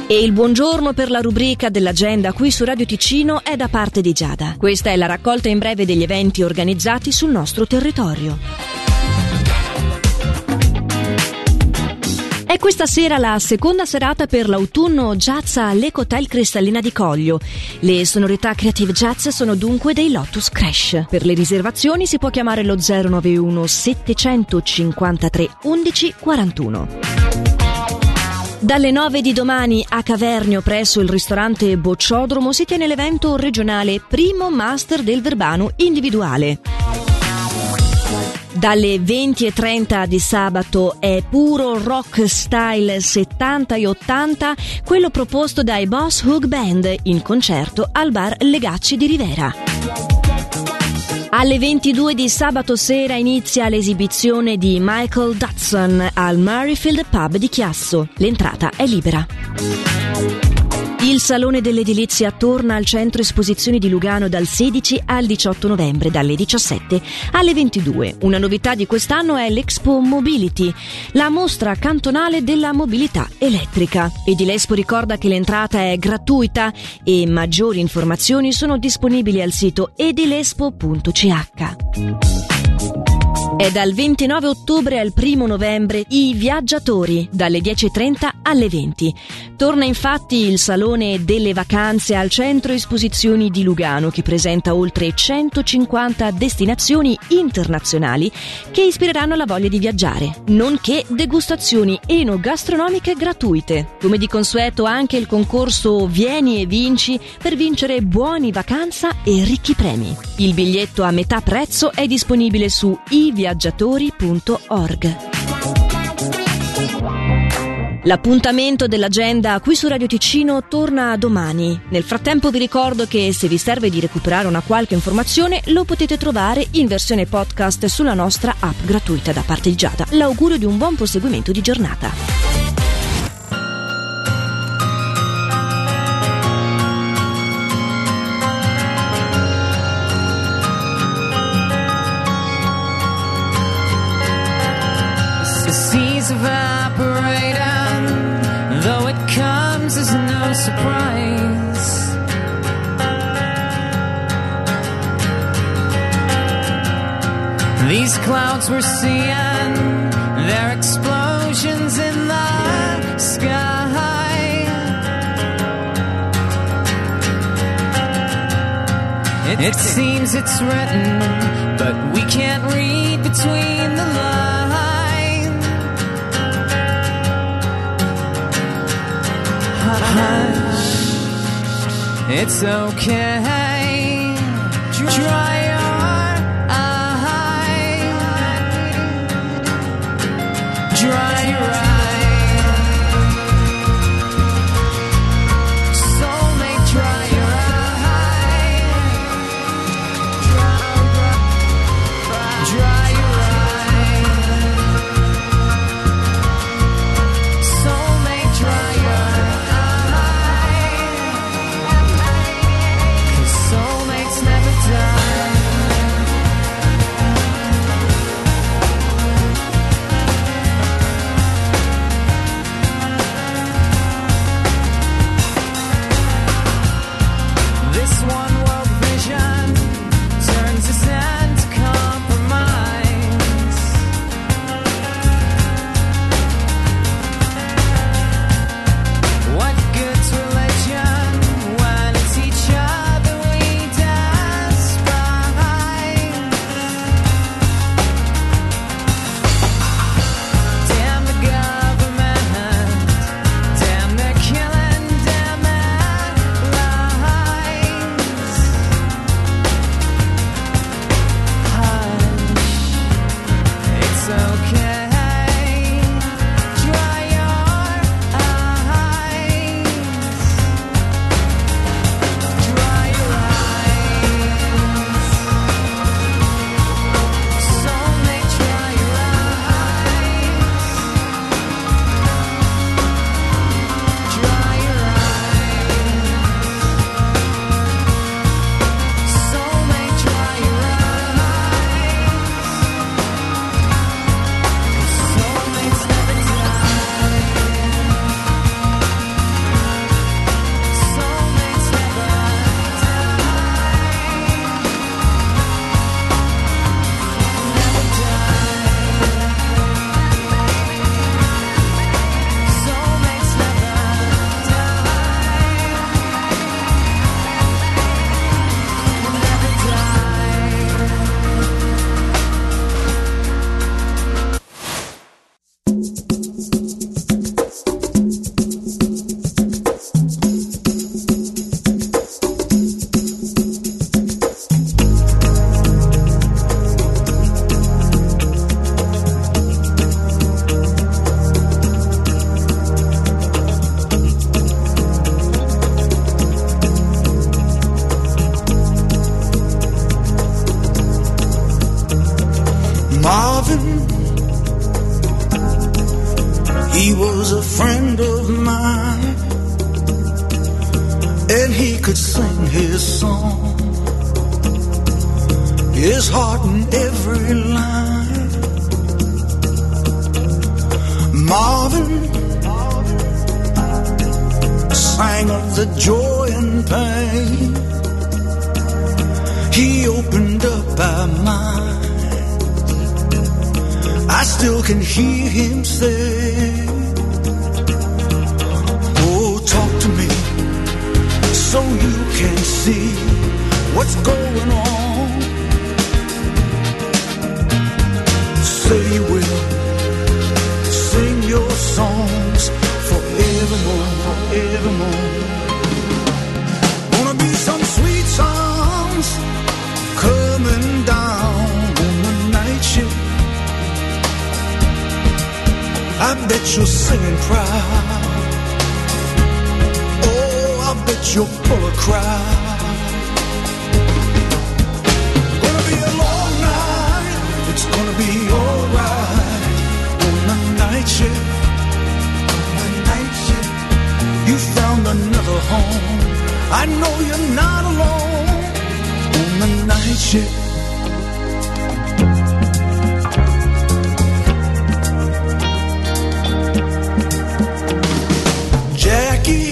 E il buongiorno per la rubrica dell'agenda qui su Radio Ticino è da parte di Giada. Questa è la raccolta in breve degli eventi organizzati sul nostro territorio. È questa sera la seconda serata per l'autunno jazz all'Ecotel Cristallina di Coglio. Le sonorità Creative Jazz sono dunque dei Lotus Crash. Per le riservazioni si può chiamare lo 091 753 11 41. Dalle 9 di domani a Cavernio, presso il ristorante Bocciodromo, si tiene l'evento regionale Primo Master del Verbano individuale. Dalle 20:30 di sabato è puro rock style 70 e 80, quello proposto dai Boss Hook Band in concerto al bar Legacci di Rivera. Alle 22 di sabato sera inizia l'esibizione di Michael Dodson al Murrayfield Pub di Chiasso. L'entrata è libera. Il Salone dell'Edilizia torna al centro esposizioni di Lugano dal 16 al 18 novembre, dalle 17 alle 22. Una novità di quest'anno è l'Expo Mobility, la mostra cantonale della mobilità elettrica. Edilespo ricorda che l'entrata è gratuita e maggiori informazioni sono disponibili al sito edilespo.ch. È dal 29 ottobre al 1 novembre I Viaggiatori, dalle 10:30 alle 20. Torna infatti il Salone delle Vacanze al Centro Esposizioni di Lugano, che presenta oltre 150 destinazioni internazionali che ispireranno la voglia di viaggiare, nonché degustazioni enogastronomiche gratuite. Come di consueto anche il concorso Vieni e Vinci per vincere buoni vacanza e ricchi premi. Il biglietto a metà prezzo è disponibile su iviaggiatori.org. L'appuntamento dell'agenda qui su Radio Ticino torna domani. Nel frattempo vi ricordo che se vi serve di recuperare una qualche informazione lo potete trovare in versione podcast sulla nostra app gratuita da parte di Giada. L'augurio di un buon proseguimento di giornata. Seas evaporate, and though it comes as no surprise, these clouds we're seeing, they're explosions in the sky. It seems it's written, but we can't read between the lines. Hush, it's okay. Dry your eyes. Dry your eyes. Soulmate, dry your eyes. Dry your eyes. Soulmate, dry your eyes. He was a friend of mine, and he could sing his song, his heart in every line. Marvin sang of the joy and pain. He opened up our mind. I still can hear him say, oh, talk to me so you can see what's going on. Say you will sing your songs forevermore, forevermore. Gonna be some sweet songs coming down on the night shift. I bet you're singing proud. Oh, I bet you're full of crowd. Gonna be a long night. It's gonna be alright on the night shift. On the night shift. You found another home. I know you're not alone on the night shift. Jackie,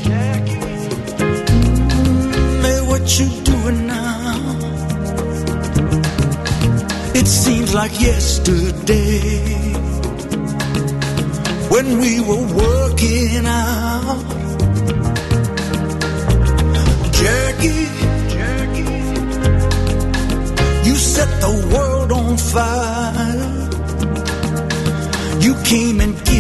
hey, what you doing now? It seems like yesterday when we were working out. Jackie, you set the world on fire. You came and